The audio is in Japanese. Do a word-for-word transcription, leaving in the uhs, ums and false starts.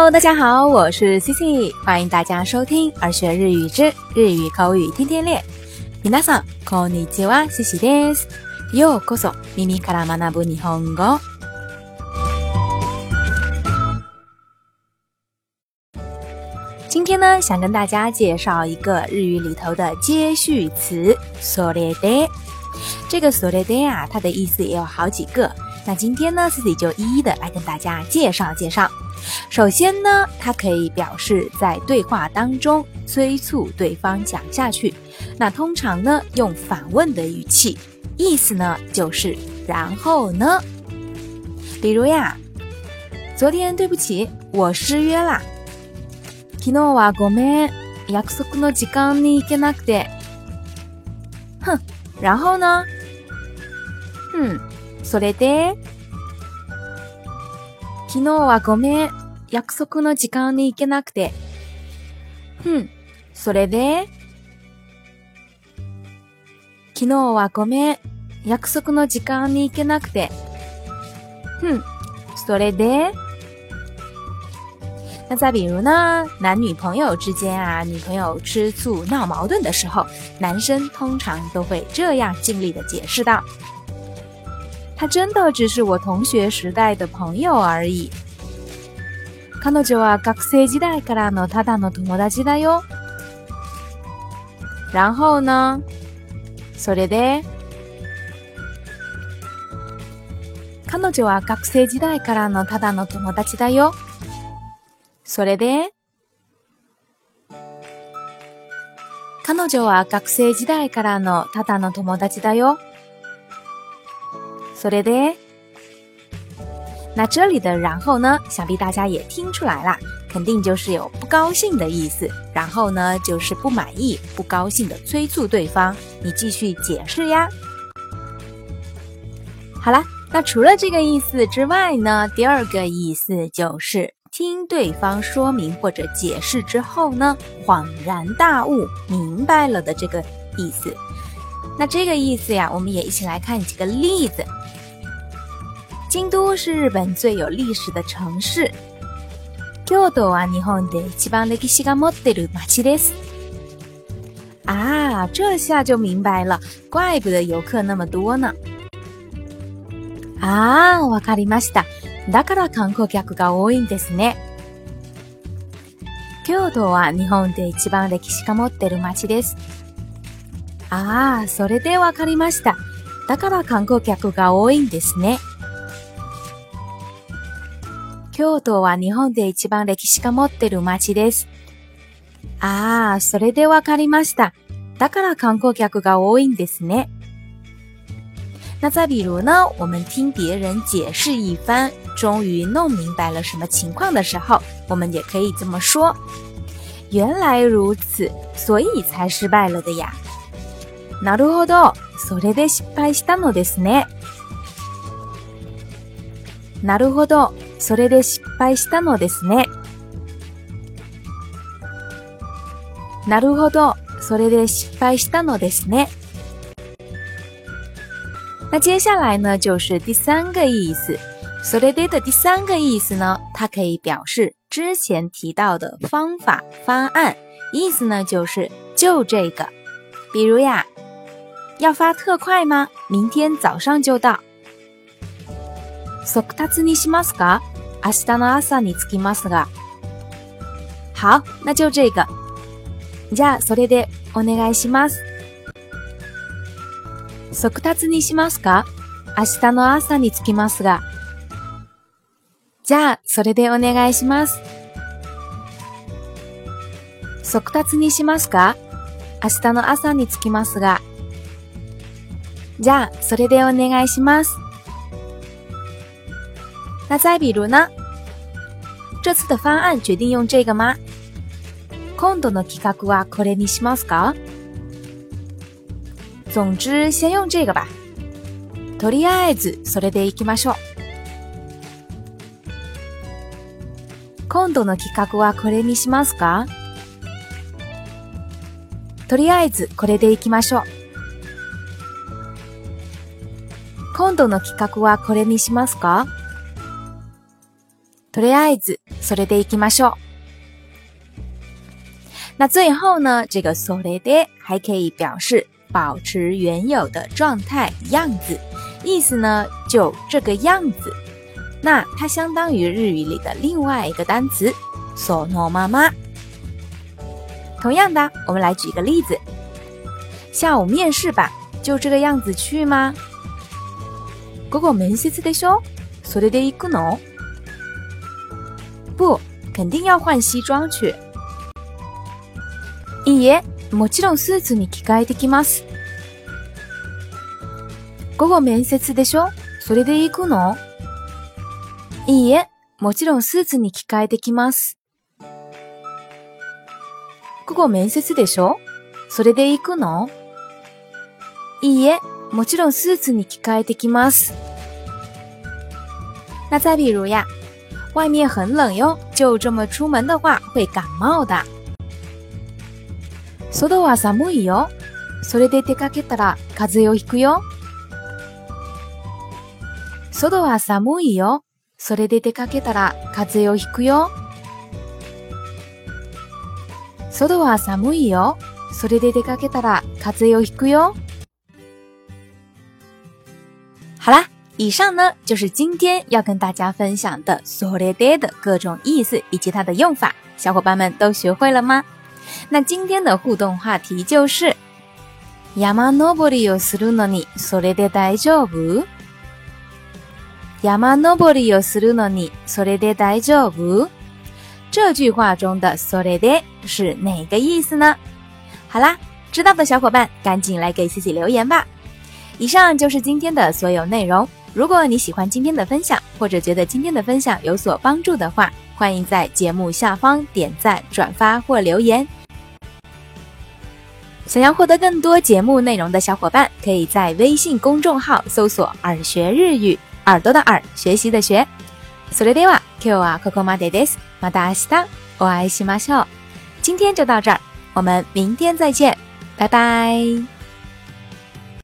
Hello， 大家好，我是 Cici， 欢迎大家收听儿学日语之日语口语天天练。皆さんこんにちは、Ciciです。ようこそ耳から学ぶ日本語。今天呢，想跟大家介绍一个日语里头的接续词それで。这个それで啊，它的意思也有好几个。那今天呢，自己就一一的来跟大家介绍介绍。首先呢，它可以表示在对话当中催促对方讲下去。那通常呢，用反问的语气，意思呢就是然后呢。比如呀，昨天对不起，我失约啦。昨日はごめん、約束の時間に行けなくて。哼，然后呢？嗯。それで、昨日はごめん、約束の時間に行けなくて。ふん、それで、昨日はごめん、約束の時間に行けなくて。ふん、それで。那再比如呢，男女朋友之间啊，女朋友吃醋闹矛盾的时候，男生通常都会这样尽力的解释道。他真的只是我同学时代的朋友而已。彼女は学生時代からのただの友達だよ。然后呢？それで、彼女は学生時代からのただの友達だよ。それで、彼女は学生時代からのただの友達だよ。それで，那这里的然后呢，想必大家也听出来啦，肯定就是有不高兴的意思。然后呢，就是不满意、不高兴的催促对方，你继续解释呀。好啦，那除了这个意思之外呢，第二个意思就是听对方说明或者解释之后呢，恍然大悟，明白了的这个意思。那这个意思呀，我们也一起来看几个例子。京都是日本最有历史的城市。京都は日本で一番歴史が持ってる町です。啊，这下就明白了，怪不得游客那么多呢。あー、わかりました。だから観光客が多いんですね。京都は日本で一番歴史が持ってる町です。あー、それでわかりました。だから観光客が多いんですね。京都は日本で一番歴史が持ってる町です。あー、それでわかりました。だから観光客が多いんですね。那再比如呢，我们听别人解释一番，终于弄明白了什么情况的时候，我们也可以这么说：原来如此，所以才失败了的呀。なるほど、それで失敗したのですね。なるほど、それで失敗したのですね。なるほど、それで失敗したのですね。那接下来呢，就是第三个意思。それで的第三个意思呢，它可以表示之前提到的方法方案，意思呢就是就这个。比如呀，要发特快吗？明天早上就到。速達にしますか？明日の朝に着きますが。好，那就这个。じゃあそれでお願いします。速達にしますか？明日の朝に着きますが。じゃあそれでお願いします。速達にしますか？明日の朝に着きますが。じゃあそれでお願いします。那再比如呢？这次的方案决定用这个吗？今度の企画はこれにしますか？总之先用这个吧。とりあえずそれで行きましょう。今度の企画はこれにしますか？とりあえずこれで行きましょう。今度の企画はこれにしますか？ とりあえずそれで行きましょう。那最后呢，这个それで还可以表示保持原有的状态样子，意思呢就这个样子。那它相当于日语里的另外一个单词そのまま。同样的，我们来举个例子。下午面试吧，就这个样子去吗？午後面接でしょ？それで行くの？不，肯定要換西裝去。いいえ、もちろんスーツに着替えてきます。午後面接でしょ？それで行くの？いいえ、もちろんスーツに着替えてきます。午後面接でしょ？それで行くの？いいえ、もちろんスーツに着替えてきます。那再比如呀，外面很冷哟，就这么出门的话会感冒的。外は寒いよ。それで出かけたら風邪をひくよ。外は寒いよ。それで出かけたら風邪をひくよ。外は寒いよ。それで出かけたら風邪をひくよ。好啦，以上呢就是今天要跟大家分享的それで的各种意思以及它的用法，小伙伴们都学会了吗？那今天的互动话题就是山登りをするのにそれで大丈夫？山登りをするのにそれで大丈夫？这句话中的それで是哪个意思呢？好啦，知道的小伙伴赶紧来给自己留言吧。以上就是今天的所有内容。如果你喜欢今天的分享，或者觉得今天的分享有所帮助的话，欢迎在节目下方点赞、转发或留言。想要获得更多节目内容的小伙伴，可以在微信公众号搜索耳学日语，耳朵的耳，学习的学。それでは今日はここまでです。また明日お会いしましょう。今天就到这儿，我们明天再见，拜拜。